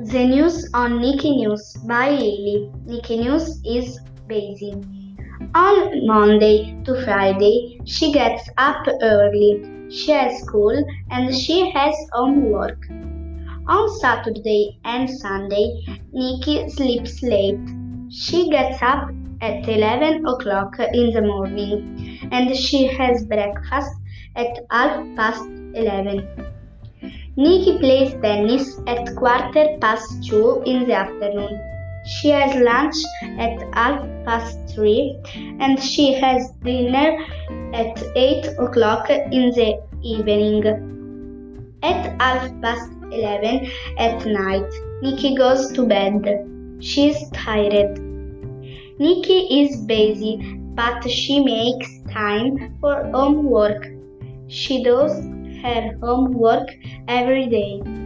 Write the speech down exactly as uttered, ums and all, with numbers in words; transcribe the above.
The news on Nikki News by Lily. Nikki News is busy. On Monday to Friday, she gets up early. She has school and she has homework. On Saturday and Sunday, Nikki sleeps late. She gets up at eleven o'clock in the morning and she has breakfast at half past eleven. Nikki plays tennis at quarter past two in the afternoon. She has lunch at half past three and she has dinner at eight o'clock in the evening. At half past eleven at night, Nikki goes to bed. She's tired. Nikki is busy, but she makes time for homework. She does her homework every day.